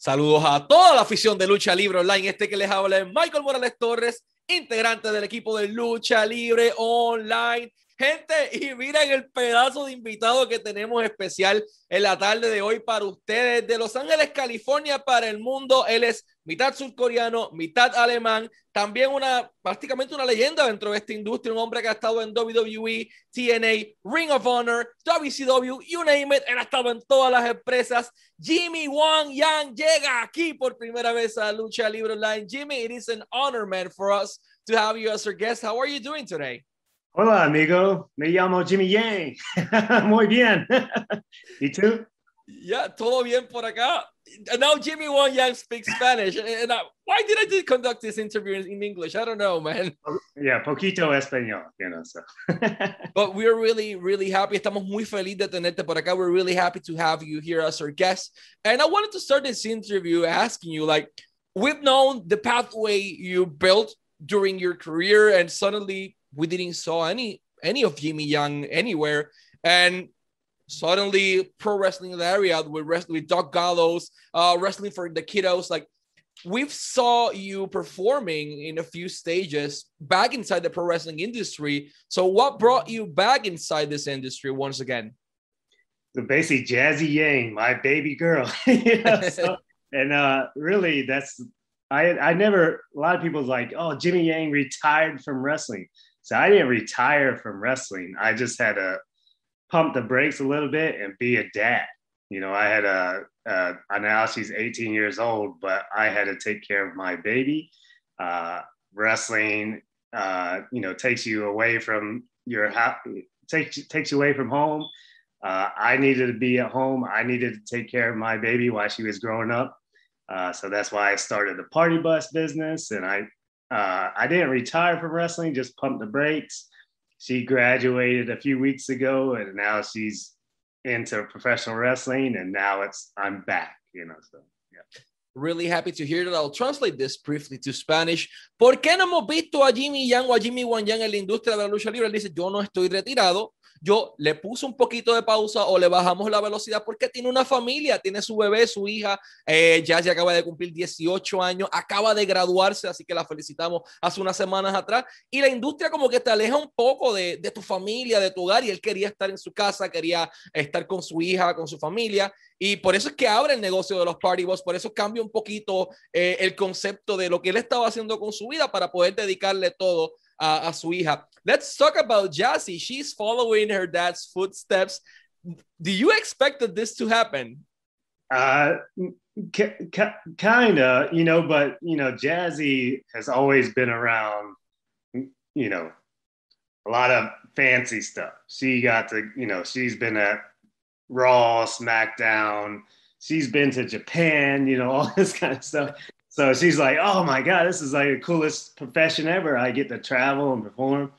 Saludos a toda la afición de Lucha Libre Online. Este que les habla es Michael Morales Torres, integrante del equipo de Lucha Libre Online. Gente, y miren el pedazo de invitado que tenemos especial en la tarde de hoy para ustedes. De Los Ángeles, California, para el mundo. Él es mitad surcoreano, mitad alemán. También prácticamente una leyenda dentro de esta industria. Un hombre que ha estado en WWE, TNA, Ring of Honor, WCW, you name it. Él ha estado en todas las empresas. Jimmy Wang Yang llega aquí por primera vez a Lucha Libre Online. Jimmy, it is an honor, man, for us to have you as our guest. How are you doing today? Hola, amigo. Me llamo Jimmy Yang. Muy bien. ¿Y tú? Yeah, todo bien por acá. And now Jimmy Wang Yang speaks Spanish. And why did I conduct this interview in English? I don't know, man. Yeah, poquito español, so. But we're really, really happy. Estamos muy felices de tenerte por acá. We're really happy to have you here as our guest. And I wanted to start this interview asking you, like, we've known the pathway you built during your career, and suddenly we didn't saw any of Jimmy Yang anywhere. And suddenly pro wrestling in the area with Doc Gallows, wrestling for the kiddos. Like, we've saw you performing in a few stages back inside the pro wrestling industry. So what brought you back inside this industry once again? So basically Jazzy Yang, my baby girl. Really I never, a lot of people's like, oh, Jimmy Yang retired from wrestling. So I didn't retire from wrestling. I just had to pump the brakes a little bit and be a dad. You know, I had now she's 18 years old, but I had to take care of my baby. Wrestling, takes you away from your house, takes you away from home. I needed to be at home. I needed to take care of my baby while she was growing up. So that's why I started the party bus business. And I didn't retire from wrestling, just pumped the brakes. She graduated a few weeks ago, and now she's into professional wrestling, and now I'm back, so yeah. Really happy to hear that. I'll translate this briefly to Spanish. ¿Por qué no hemos visto a Jimmy Yang o a Jimmy Wang Yang en la industria de la lucha libre? Él dice, yo no estoy retirado. Yo le puse un poquito de pausa o le bajamos la velocidad porque tiene una familia, tiene su bebé, su hija, ya acaba de cumplir 18 años, acaba de graduarse, así que la felicitamos hace unas semanas atrás, y la industria como que te aleja un poco de tu familia, de tu hogar, y él quería estar en su casa, quería estar con su hija, con su familia, y por eso es que abre el negocio de los Party Bus, por eso cambia un poquito el concepto de lo que él estaba haciendo con su vida para poder dedicarle todo a su hija. Let's talk about Jazzy. She's following her dad's footsteps. Do you expect this to happen? Kind of, but, Jazzy has always been around, a lot of fancy stuff. She got to, she's been at Raw, SmackDown. She's been to Japan, all this kind of stuff. So she's like, oh my God, this is like the coolest profession ever. I get to travel and perform.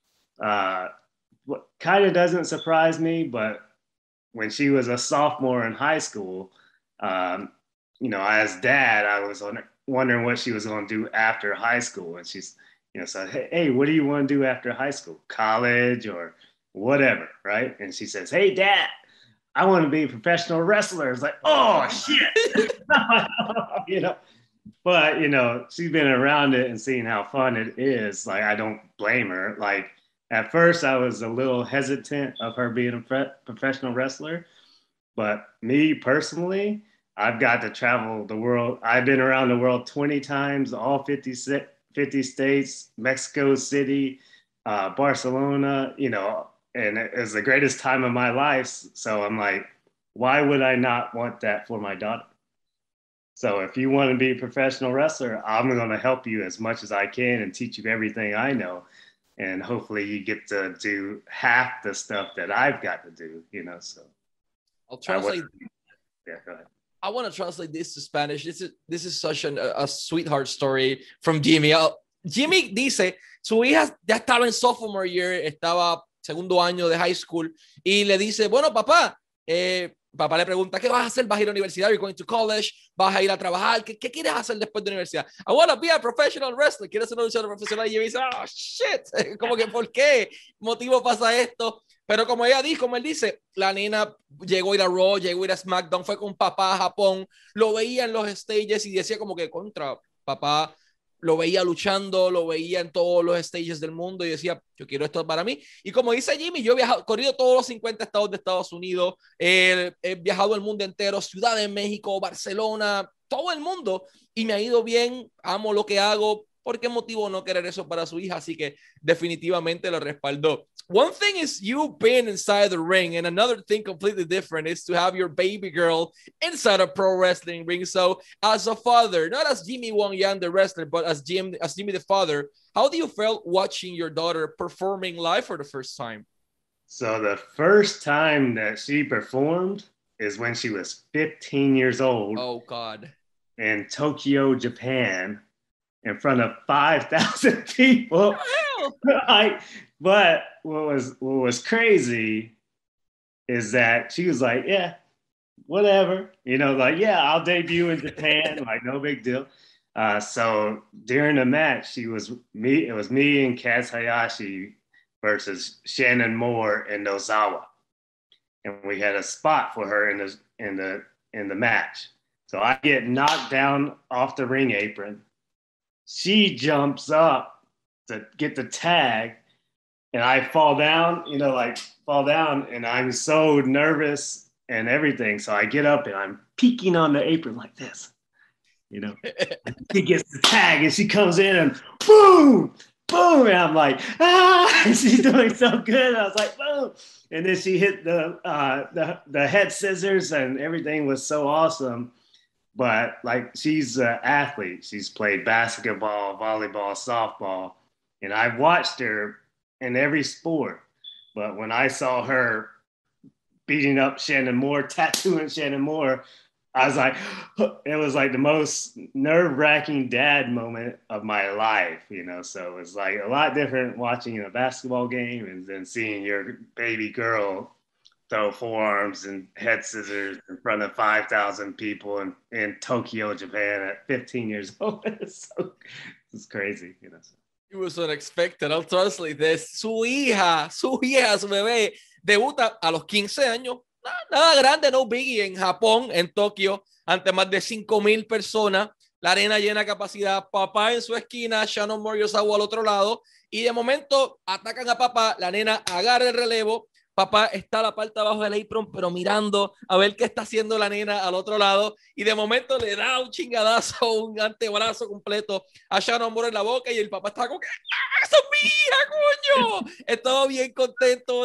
What kind of doesn't surprise me, but when she was a sophomore in high school, as dad, I was wondering what she was going to do after high school. And she's, said, hey, what do you want to do after high school? College or whatever, right? And she says, hey, Dad, I want to be a professional wrestler. It's like, oh, shit. But, she's been around it and seeing how fun it is. Like, I don't blame her. Like, at first, I was a little hesitant of her being a professional wrestler. But me personally, I've got to travel the world. I've been around the world 20 times, all 50 states, Mexico City, Barcelona, and it's the greatest time of my life. So I'm like, why would I not want that for my daughter? So if you want to be a professional wrestler, I'm going to help you as much as I can and teach you everything I know. And hopefully you get to do half the stuff that I've got to do, so. I'll translate. Yeah, go ahead. I want to translate this to Spanish. This is such a sweetheart story from Jimmy. Jimmy dice, su hija ya estaba en sophomore year, estaba segundo año de high school, y le dice, bueno, papá le pregunta, ¿qué vas a hacer? ¿Vas a ir a la universidad? ¿You're going to college? ¿Vas a ir a trabajar? ¿Qué quieres hacer después de la universidad? I want to be a professional wrestler. ¿Quieres ser un luchador profesional? Y yo dice, oh, shit. Como que, ¿por qué motivo pasa esto? Pero como ella dice, como él dice, la nena llegó a ir a Raw, llegó a ir a SmackDown, fue con papá a Japón, lo veía en los stages y decía como que contra papá, lo veía luchando, lo veía en todos los stages del mundo y decía, yo quiero esto para mí. Y como dice Jimmy, yo he viajado, corrido todos los 50 estados de Estados Unidos, he viajado el mundo entero, Ciudad de México, Barcelona, todo el mundo, y me ha ido bien, amo lo que hago. ¿Por qué motivo no querer eso para su hija? Así que definitivamente lo respaldó. One thing is you being inside the ring, and another thing completely different is to have your baby girl inside a pro wrestling ring. So, as a father, not as Jimmy Wong Yang, the wrestler, but as Jimmy the father, how do you feel watching your daughter performing live for the first time? So the first time that she performed is when she was 15 years old. Oh, God. In Tokyo, Japan, in front of 5,000 people. But what was crazy is that she was like, yeah, whatever, like, yeah, I'll debut in Japan, like no big deal. So during the match, it was me and Kaz Hayashi versus Shannon Moore and Nozawa, and we had a spot for her in the match. So I get knocked down off the ring apron. She jumps up to get the tag, and I fall down, and I'm so nervous and everything. So I get up and I'm peeking on the apron like this, She gets the tag and she comes in and boom, boom, and I'm like, ah, she's doing so good. I was like, boom, and then she hit the head scissors, and everything was so awesome. But like, she's an athlete. She's played basketball, volleyball, softball, and I've watched her in every sport. But when I saw her beating up Shannon Moore, tattooing Shannon Moore, I was like, it was like the most nerve-wracking dad moment of my life, So it was like a lot different watching a basketball game and then seeing your baby girl throw forearms and head scissors in front of 5,000 people in Tokyo, Japan at 15 years old. It's crazy, It was unexpected. I'll translate this. Su hija, su bebé, debuta a los 15 años. Nada grande, no biggie, en Japón, en Tokio, ante más de 5,000 personas. La arena llena de capacidad. Papá en su esquina, Shannon Moriosawa al otro lado. Y de momento atacan a papá. La nena agarra el relevo. Papá está a la parte de abajo del apron, pero mirando a ver qué está haciendo la nena al otro lado. Y de momento le da un chingadazo, un antebrazo completo a Shannon Moore en la boca. Y el papá está como que, ¡ah, esa es mi hija, coño! Estaba bien contento.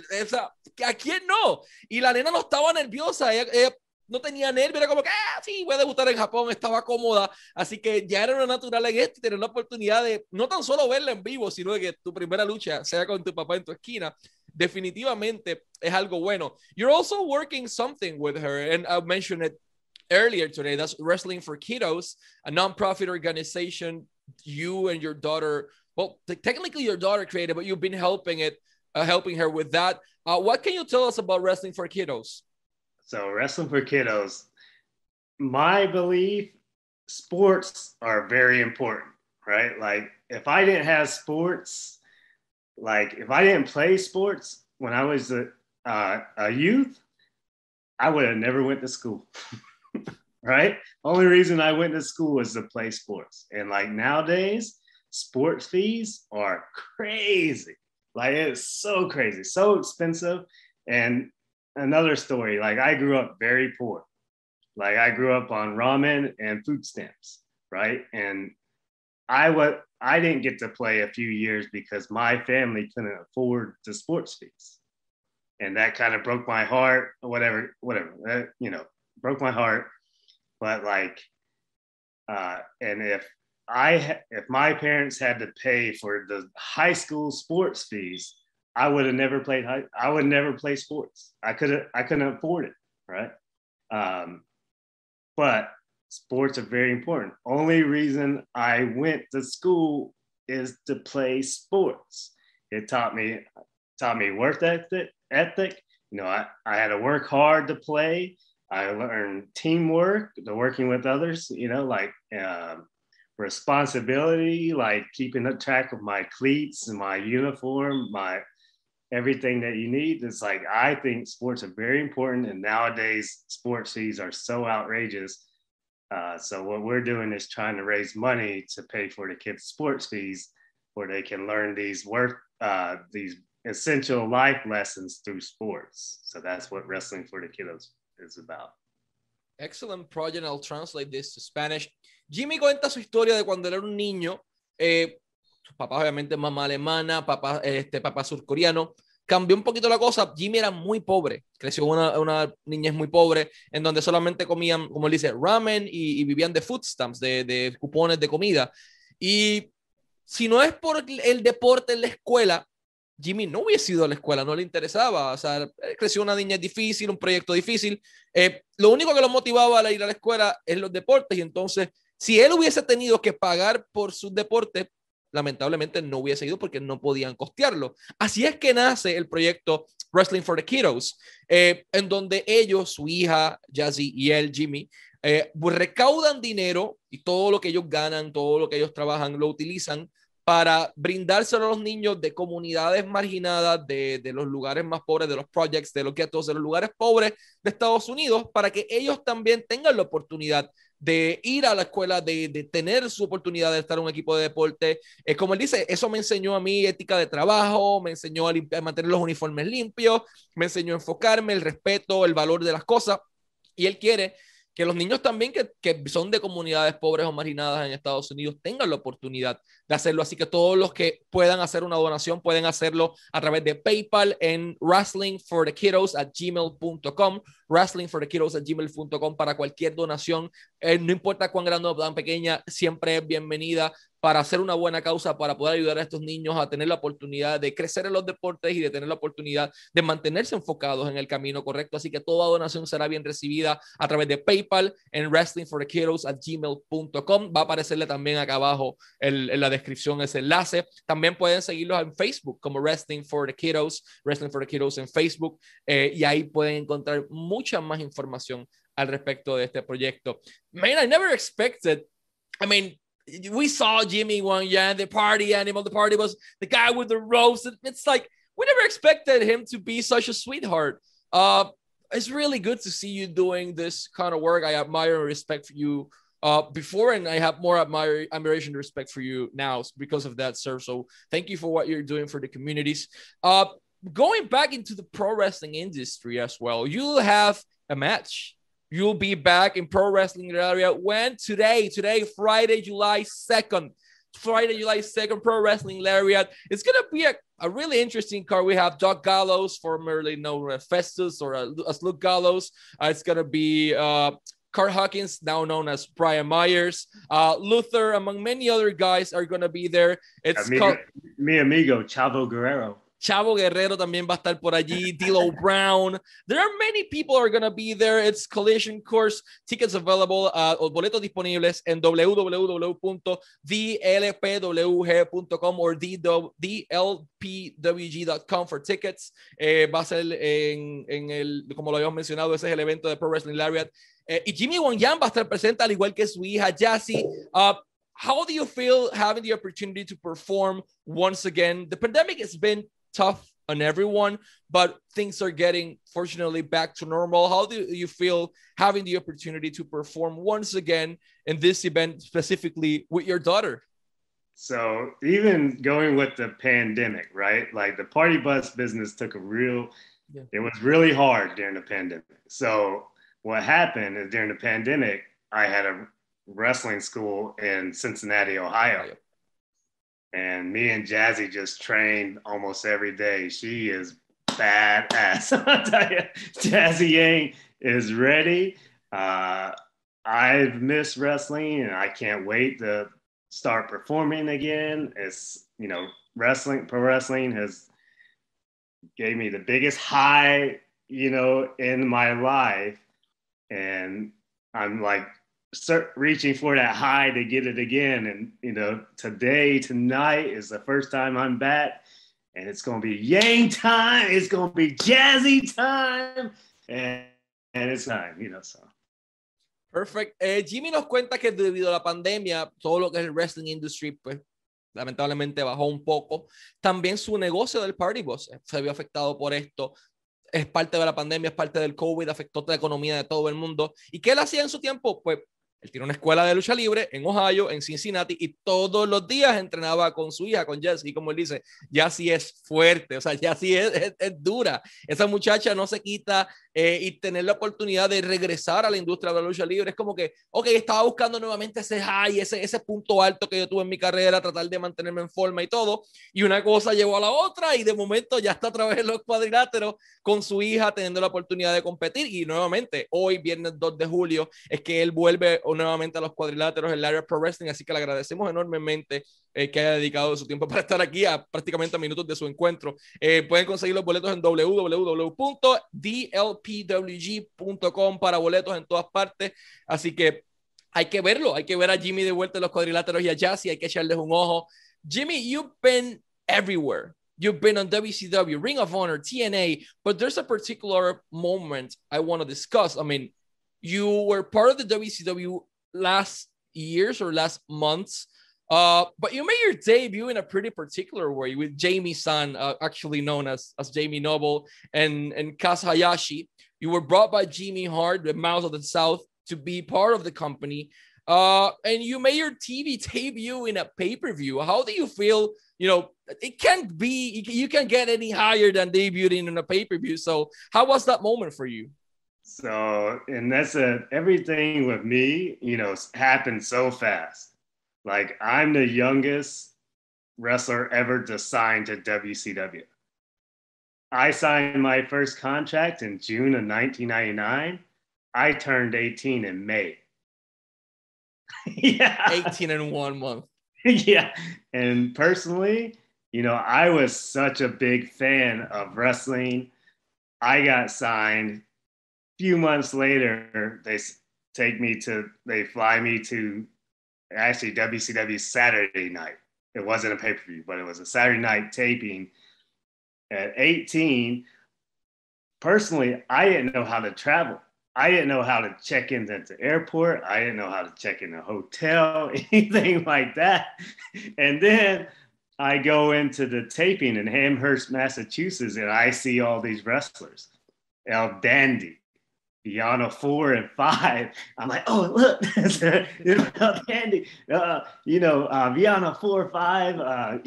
¿A quién no? Y la nena no estaba nerviosa. Ella no tenía nervios, era como que, sí, voy a debutar en Japón, estaba cómoda, así que ya era una natural en esto y tener la oportunidad de no tan solo verla en vivo, sino de que tu primera lucha sea con tu papá en tu esquina, definitivamente es algo bueno. You're also working something with her, and I mentioned it earlier today, that's Wrestling for Kiddos, a non-profit organization you and your daughter, well, technically your daughter created, but you've been helping her with that. What can you tell us about Wrestling for Kiddos? So Wrestling for Kiddos, my belief, sports are very important, right? Like if I didn't have sports, like if I didn't play sports when I was a youth, I would have never went to school, right? Only reason I went to school was to play sports. And like nowadays, sports fees are crazy. Like it's so crazy, so expensive. And another story, like I grew up very poor. Like I grew up on ramen and food stamps, right? And I didn't get to play a few years because my family couldn't afford the sports fees. And that kind of broke my heart, whatever, broke my heart. But like, and if my parents had to pay for the high school sports fees, I would have never played. I would never play sports. I couldn't afford it, right? But sports are very important. Only reason I went to school is to play sports. It taught me work ethic. I had to work hard to play. I learned teamwork, the working with others. Responsibility, like keeping track of my cleats and my uniform, my everything that you need. It's like, I think sports are very important, and nowadays sports fees are so outrageous. So what we're doing is trying to raise money to pay for the kids' sports fees, where they can learn these essential life lessons through sports. So that's what Wrestling for the Kiddos is about. Excellent project. I'll translate this to Spanish. Jimmy cuenta su historia de cuando él era un niño. Sus papás, obviamente, mamá alemana, papá surcoreano. Cambió un poquito la cosa. Jimmy era muy pobre. Creció una niñez muy pobre, en donde solamente comían, como él dice, ramen y vivían de food stamps, de cupones de comida. Y si no es por el deporte en la escuela, Jimmy no hubiese ido a la escuela, no le interesaba. O sea, creció una niñez difícil, un proyecto difícil. Lo único que lo motivaba a ir a la escuela es los deportes. Y entonces, si él hubiese tenido que pagar por sus deportes, lamentablemente no hubiese ido porque no podían costearlo. Así es que nace el proyecto Wrestling for the Kiddos, en donde ellos, su hija Jazzy y él, Jimmy, recaudan dinero, y todo lo que ellos ganan, todo lo que ellos trabajan, lo utilizan para brindárselo a los niños de comunidades marginadas, de los lugares más pobres, de los projects, de los ghettos, de los lugares pobres de Estados Unidos, para que ellos también tengan la oportunidad de ir a la escuela, de tener su oportunidad de estar en un equipo de deporte. Como él dice, eso me enseñó a mí ética de trabajo, me enseñó a mantener los uniformes limpios, me enseñó a enfocarme, el respeto, el valor de las cosas. Y él quiere que los niños también que son de comunidades pobres o marginadas en Estados Unidos tengan la oportunidad de hacerlo. Así que todos los que puedan hacer una donación pueden hacerlo a través de PayPal en wrestlingforthekiddos@gmail.com, wrestlingforthekiddos@gmail.com, para cualquier donación. No importa cuán grande o tan pequeña, siempre es bienvenida para hacer una buena causa, para poder ayudar a estos niños a tener la oportunidad de crecer en los deportes y de tener la oportunidad de mantenerse enfocados en el camino correcto. Así que toda donación será bien recibida a través de PayPal en wrestlingforthekiddos@gmail.com. Va a aparecerle también acá abajo en la descripción ese enlace. También pueden seguirlos en Facebook como Wrestling for the Kiddos en Facebook, y ahí pueden encontrar mucha más información al respecto de este proyecto. Man, I never expected, I mean, we saw Jimmy Wang Yan, the party animal. The party was the guy with the ropes. It's like we never expected him to be such a sweetheart. It's really good to see you doing this kind of work. I admire and respect for you before, and I have more admiration and respect for you now because of that, sir. So thank you for what you're doing for the communities. Going back into the pro wrestling industry as well, you have a match. You'll be back in pro wrestling area when today, Friday, July 2nd, Pro Wrestling Lariat. It's going to be a really interesting card. We have Doc Gallows, formerly known as Festus or as Luke Gallows. It's going to be Curt Hawkins, now known as Brian Myers. Luther, among many other guys, are going to be there. It's mi amigo, Chavo Guerrero. Chavo Guerrero también va a estar por allí. D'Lo Brown. There are many people are going to be there. It's Collision Course. Tickets available, boletos disponibles en www.dlpwg.com or dlpwg.com for tickets. Va a ser como lo habíamos mencionado, ese es el evento de Pro Wrestling Lariat. Y Jimmy Wang Yan va a estar presente, al igual que su hija Jazzy. How do you feel having the opportunity to perform once again? The pandemic has been tough on everyone, but things are getting, fortunately, back to normal. How do you feel having the opportunity to perform once again in this event, specifically with your daughter? So even going with the pandemic, right? Like the party bus business took it was really hard during the pandemic. So what happened is during the pandemic, I had a wrestling school in Cincinnati, Ohio. And me and Jazzy just trained almost every day. She is badass. I'll tell you, Jazzy Yang is ready. I've missed wrestling and I can't wait to start performing again. It's, pro wrestling has gave me the biggest high, in my life. And I'm like, reaching for that high to get it again. And, tonight is the first time I'm back, and it's going to be Yang time. It's going to be Jazzy time. And it's time, so. Perfect. Jimmy nos cuenta que debido a la pandemia, todo lo que es el wrestling industry, pues, lamentablemente bajó un poco. También su negocio del Party Bus se vio afectado por esto. Es parte de la pandemia, es parte del COVID, afectó toda la economía de todo el mundo. ¿Y qué él hacía en su tiempo? Pues él tiene una escuela de lucha libre en Ohio, en Cincinnati, y todos los días entrenaba con su hija, con Jessie, como él dice. Jessie es fuerte, o sea, Jessie es dura. Esa muchacha no se quita y tener la oportunidad de regresar a la industria de la lucha libre es como que, ok, estaba buscando nuevamente ese high, ese punto alto que yo tuve en mi carrera, tratar de mantenerme en forma y todo, y una cosa llevó a la otra y de momento ya está a través de los cuadriláteros con su hija teniendo la oportunidad de competir y nuevamente hoy, viernes 2 de julio, es que él vuelve nuevamente a los cuadriláteros en el área Pro Wrestling, así que le agradecemos enormemente que haya dedicado su tiempo para estar aquí a prácticamente a minutos de su encuentro. Pueden conseguir los boletos en www.dlpwg.com para boletos en todas partes, así que hay que verlo, hay que ver a Jimmy de vuelta en los cuadriláteros y a Jassy, hay que echarles un ojo. Jimmy, you've been everywhere. You've been on WCW, Ring of Honor, TNA, but there's a particular moment I want to discuss. I mean, you were part of the WCW last years or last months, but you made your debut in a pretty particular way with Jamie San, actually known as Jamie Noble, and Kaz Hayashi. You were brought by Jimmy Hart, the Mouse of the South, to be part of the company. And you made your TV debut in a pay-per-view. How do you feel? You know, it can't be, you can't get any higher than debuting in a pay-per-view. So how was that moment for you? So, and everything with me, you know, happened so fast. Like, I'm the youngest wrestler ever to sign to WCW. I signed my first contract in June of 1999. I turned 18 in May. Yeah. 18 in 1 month. Yeah. And personally, you know, I was such a big fan of wrestling. I got signed. Few months later, they fly me to actually WCW Saturday night. It wasn't a pay-per-view, but it was a Saturday night taping. At 18, personally, I didn't know how to travel. I didn't know how to check in at the airport. I didn't know how to check in a hotel, anything like that. And then I go into the taping in Amherst, Massachusetts, and I see all these wrestlers. El Dandy, Viana 4 and 5. I'm like, oh, look, El Dandy. Viana 4 5,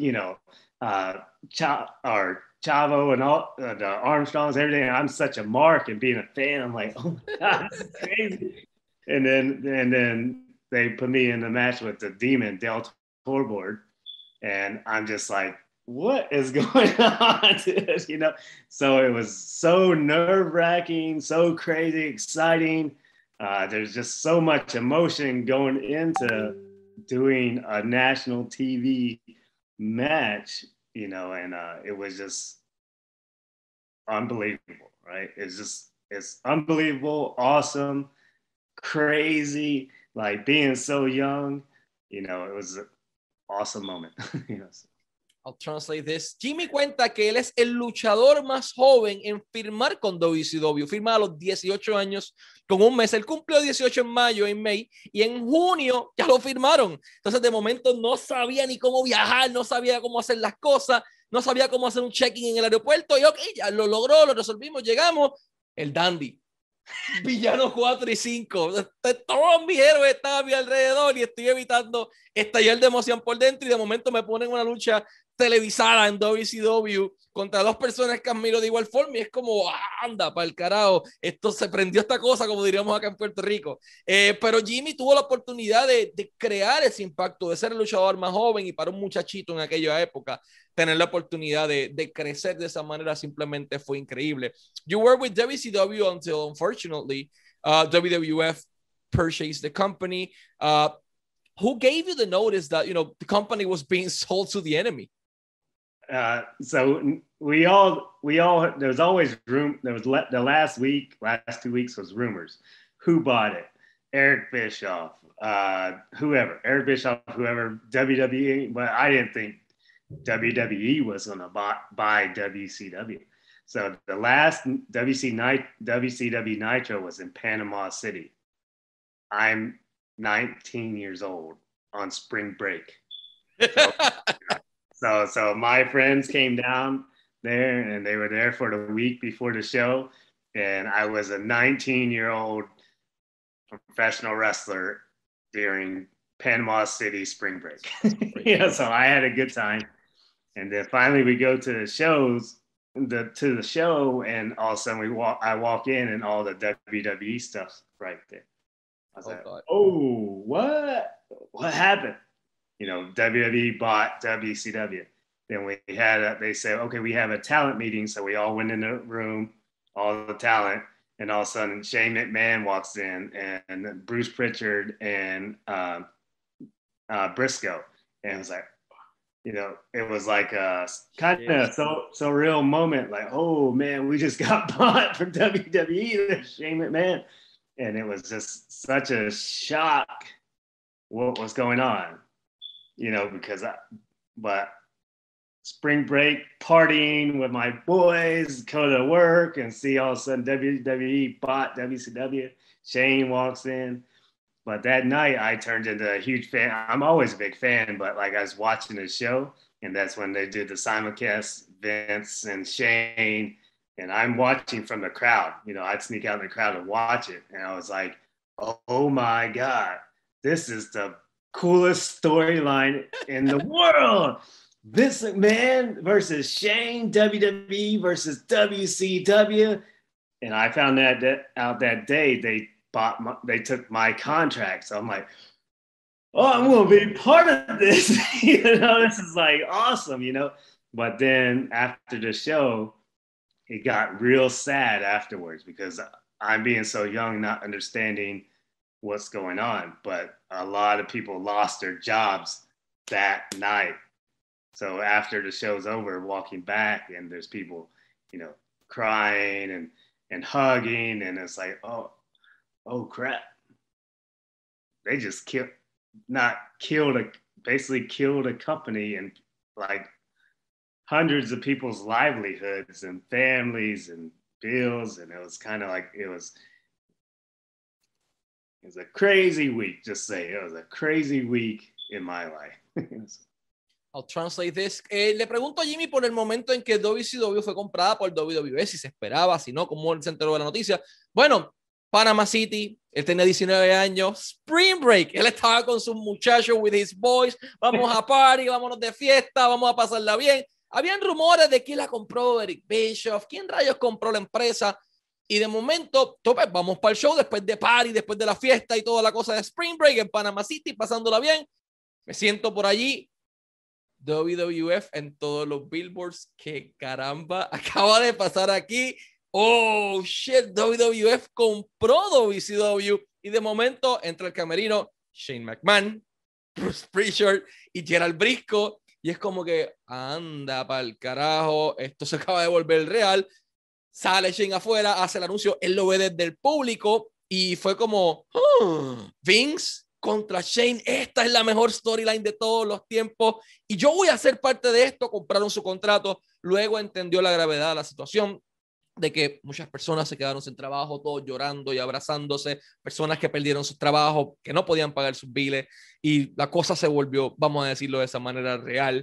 Chavo and all the Armstrongs, everything. I'm such a mark, and being a fan, I'm like, oh my God, this is crazy. And then they put me in the match with the Demon, Del Torborg, and I'm just like, what is going on? You know, so it was so nerve-wracking, so crazy, exciting. There's just so much emotion going into doing a national TV match, you know, and it was just unbelievable, right? It's unbelievable, awesome, crazy, like being so young, you know, it was an awesome moment. You know. I'll translate this. Jimmy cuenta que él es el luchador más joven en firmar con WCW. Firma a los 18 años con un mes. Él cumplió 18 en mayo, en May, y en junio ya lo firmaron. Entonces, de momento no sabía ni cómo viajar, no sabía cómo hacer las cosas, no sabía cómo hacer un check-in en el aeropuerto. Y ok, ya lo logró, lo resolvimos, llegamos. El Dandy. Villanos 4 y 5. Todos mis héroes estaban a mi alrededor y estoy evitando estallar de emoción por dentro y de momento me ponen una lucha televisada en WCW contra dos personas que admiro de igual forma y es como, anda, para el carajo, esto se prendió esta cosa, como diríamos acá en Puerto Rico. Pero Jimmy tuvo la oportunidad de crear ese impacto, de ser el luchador más joven y para un muchachito en aquella época, tener la oportunidad de crecer de esa manera simplemente fue increíble. You were with WCW until, unfortunately, WWF purchased the company. Who gave you the notice that, you know, the company was being sold to the enemy? So we all there was always room. There was the last 2 weeks was rumors. Who bought it? Eric Bischoff, whoever, Eric Bischoff, whoever, WWE. But I didn't think WWE was going to buy WCW. So the last WCW Nitro was in Panama City. I'm 19 years old on spring break. So my friends came down there, and they were there for the week before the show, and I was a 19-year-old professional wrestler during Panama City spring break. So I had a good time. And then finally we go to the shows, to the show, and all of a sudden I walk in and all the WWE stuff's right there. I was like, God. oh, what happened? WWE bought WCW. Then they said, okay, we have a talent meeting. So we all went in the room, all the talent, and all of a sudden Shane McMahon walks in, and Bruce Pritchard and Briscoe. And it was like, it was like a kind of so real moment, like, oh man, we just got bought from WWE, Shane McMahon. And it was just such a shock what was going on, but spring break partying with my boys, go to work and see all of a sudden WWE bought WCW. Shane walks in. But that night I turned into a huge fan. I'm always a big fan, but like I was watching the show, and that's when they did the simulcast, Vince and Shane, and I'm watching from the crowd. I'd sneak out in the crowd and watch it. And I was like, oh my God, this is the coolest storyline in the world. Vince McMahon versus Shane, WWE versus WCW. And I found out that day they took my contract. So I'm like, oh, I'm going to be part of this. This is like awesome, But then after the show, it got real sad afterwards because I'm being so young, not understanding what's going on. But a lot of people lost their jobs that night. So after the show's over, walking back, and there's people, crying and hugging, and it's like, oh crap. They just basically killed a company and like hundreds of people's livelihoods and families and bills. And it was kind of like, it was a crazy week, just say. It was a crazy week in my life. I'll translate this. Le pregunto a Jimmy por el momento en que WCW fue comprada por WWE, si se esperaba, si no, cómo él se enteró de la noticia. Bueno, Panama City, él tenía 19 años, Spring Break, él estaba con sus muchachos, with his boys, vamos a party, vámonos de fiesta, vamos a pasarla bien. Habían rumores de quién la compró, Eric Bischoff, quién rayos compró la empresa, y de momento, vamos para el show, después de party, después de la fiesta y toda la cosa de Spring Break en Panama City, pasándola bien, me siento por allí, WWF en todos los billboards, que caramba, acaba de pasar aquí. Oh, shit, WWF compró WCW y de momento entra el camerino Shane McMahon, Bruce Pritchard y Gerald Briscoe y es como que anda pa'l carajo, esto se acaba de volver real. Sale Shane afuera, hace el anuncio, él lo ve desde el público y fue como, Vince contra Shane, esta es la mejor storyline de todos los tiempos y yo voy a ser parte de esto. Compraron su contrato, luego entendió la gravedad de la situación, de que muchas personas se quedaron sin trabajo, todos llorando y abrazándose, personas que perdieron sus trabajos, que no podían pagar sus biles, y la cosa se volvió, vamos a decirlo de esa manera, real.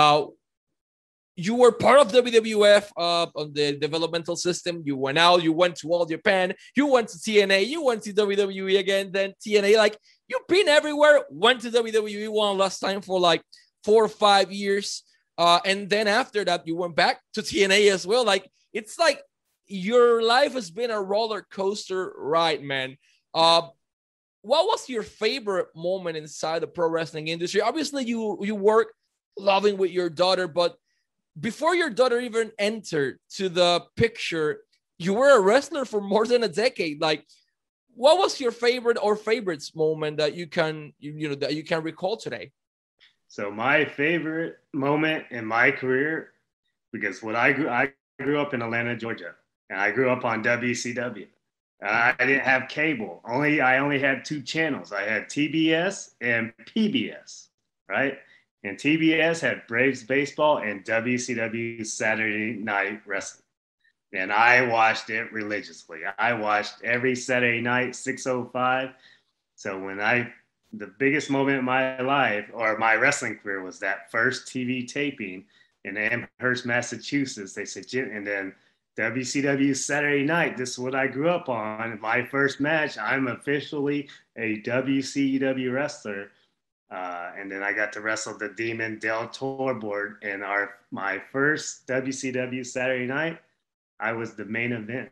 You were part of WWF on the developmental system. You went out, you went to All Japan, you went to TNA, you went to WWE again, then TNA. Like, you've been everywhere, went to WWE one last time for like 4 or 5 years. And then after that, you went back to TNA as well. Like, it's like your life has been a roller coaster ride, man. What was your favorite moment inside the pro wrestling industry? Obviously, you work loving with your daughter, but before your daughter even entered to the picture, you were a wrestler for more than a decade. Like, what was your favorite or favorites moment that you can recall today? So my favorite moment in my career, because I grew up in Atlanta, Georgia, and I grew up on WCW. I didn't have cable. I only had 2 channels. I had TBS and PBS, right? And TBS had Braves baseball and WCW Saturday Night Wrestling. And I watched it religiously. I watched every Saturday night, 6:05. So when I the biggest moment in my life or my wrestling career was that first TV taping in Amherst, Massachusetts. They said, and then WCW Saturday Night. This is what I grew up on. My first match, I'm officially a WCW wrestler. And then I got to wrestle the Demon Del Toro in my first WCW Saturday Night. I was the main event.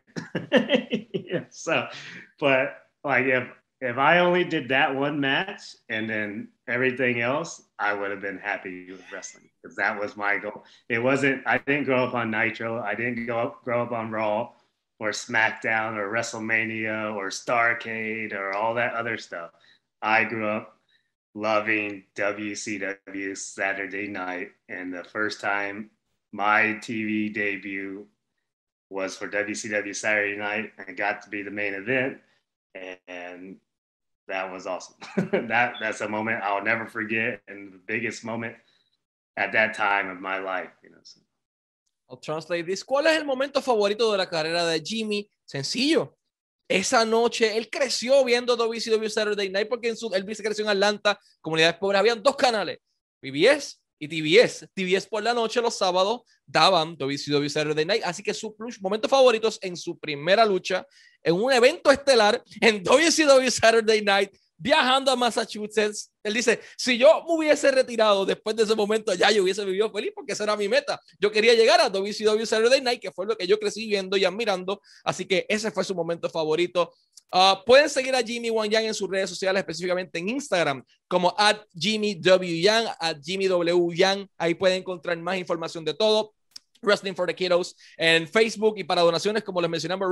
Yeah, so, but like if I only did that one match and then everything else, I would have been happy with wrestling because that was my goal. I didn't grow up on Nitro. I didn't grow up on Raw or SmackDown or WrestleMania or Starrcade or all that other stuff. I grew up loving WCW Saturday Night. And the first time my TV debut was for WCW Saturday Night. I got to be the main event. And that was awesome. That's a moment I'll never forget, and the biggest moment at that time of my life. So. I'll translate this. ¿Cuál es el momento favorito de la carrera de Jimmy? Sencillo. Esa noche él creció viendo WCW Saturday Night porque él se creció en Atlanta, comunidades pobres. Habían dos canales, PBS y TBS. TBS por la noche, los sábados, daban WCW Saturday Night. Así que sus momentos favoritos en su primera lucha, en un evento estelar, en WCW Saturday Night, viajando a Massachusetts. Él dice, si yo me hubiese retirado después de ese momento, ya yo hubiese vivido feliz porque esa era mi meta. Yo quería llegar a WCW Saturday Night, que fue lo que yo crecí viendo y admirando. Así que ese fue su momento favorito. Pueden seguir a Jimmy Wang Yang en sus redes sociales, específicamente en Instagram, como @JimmyWYang, @JimmyWYang. Ahí pueden encontrar más información de todo. Wrestling for the Kiddos en Facebook, y para donaciones, como les mencionamos,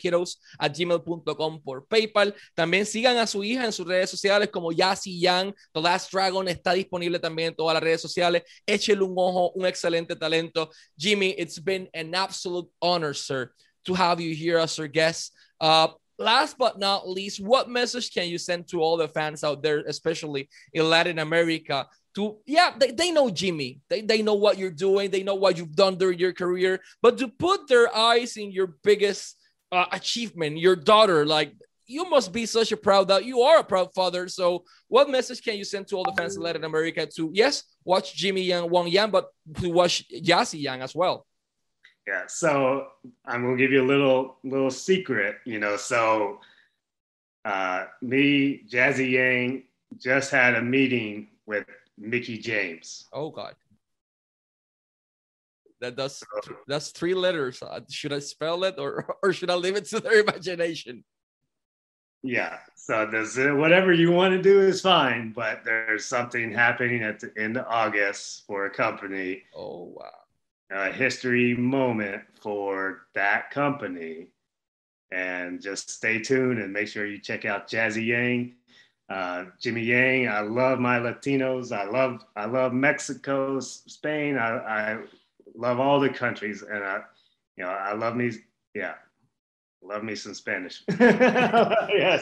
wrestlingforthekiddos@gmail.com por PayPal. También sigan a su hija en sus redes sociales como Yasi Yang. The Last Dragon está disponible también en todas las redes sociales. Échele un ojo, un excelente talento. Jimmy, it's been an absolute honor, sir, to have you here as our guest. Last but not least, what message can you send to all the fans out there, especially in Latin America? They know Jimmy. They know what you're doing. They know what you've done during your career. But to put their eyes in your biggest achievement, your daughter, like, you must be such a proud you are a proud father. So what message can you send to all the fans in Latin America to, yes, watch Jimmy Wang Yang, but to watch Yasi Yang as well? Yeah, so I'm gonna give you a little secret, So me, Jazzy Yang, just had a meeting with Mickie James. Oh God, that's 3 letters. Should I spell it or should I leave it to their imagination? Yeah, so whatever you want to do is fine, but there's something happening at the end of August for a company. Oh wow. A history moment for that company, and just stay tuned and make sure you check out Jazzy Yang, Jimmy Yang. I love my Latinos. I love Mexico, Spain. I love all the countries, and I love me. Yeah, love me some Spanish. Yeah,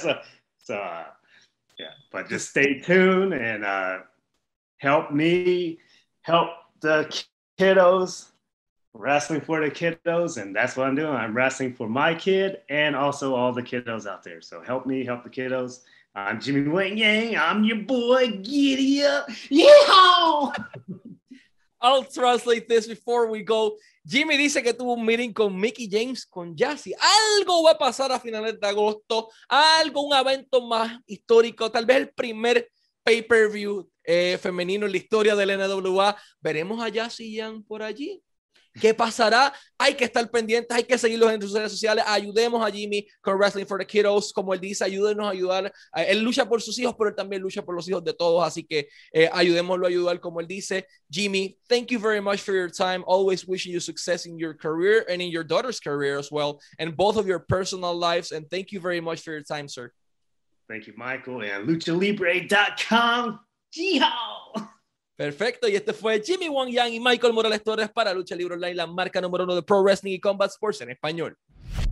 but just stay tuned and help me help the kiddos. Wrestling for the kiddos, and that's what I'm doing. I'm wrestling for my kid and also all the kiddos out there. So help me help the kiddos. I'm Jimmy Wang Yang. I'm your boy. Giddy up. Yeehaw! I'll translate this before we go. Jimmy dice que tuvo un meeting con Mickie James, con Yasi. Algo va a pasar a finales de agosto. Un evento más histórico. Tal vez el primer pay-per-view femenino en la historia del NWA. Veremos a Yasi Yang por allí. ¿Qué pasará? Hay que estar pendientes, hay que seguirlos en sus redes sociales. Ayudemos a Jimmy con Wrestling for the Kiddos. Como él dice, ayúdenos a ayudar. Él lucha por sus hijos, pero él también lucha por los hijos de todos. Así que ayudémoslo a ayudar, como él dice. Jimmy, thank you very much for your time. Always wishing you success in your career and in your daughter's career as well, and both of your personal lives. And thank you very much for your time, sir. Thank you, Michael. And luchalibre.com. Yeehaw! Perfecto, y este fue Jimmy Wang Yang y Michael Morales Torres para Lucha Libre Online, la marca número 1 de Pro Wrestling y Combat Sports en español.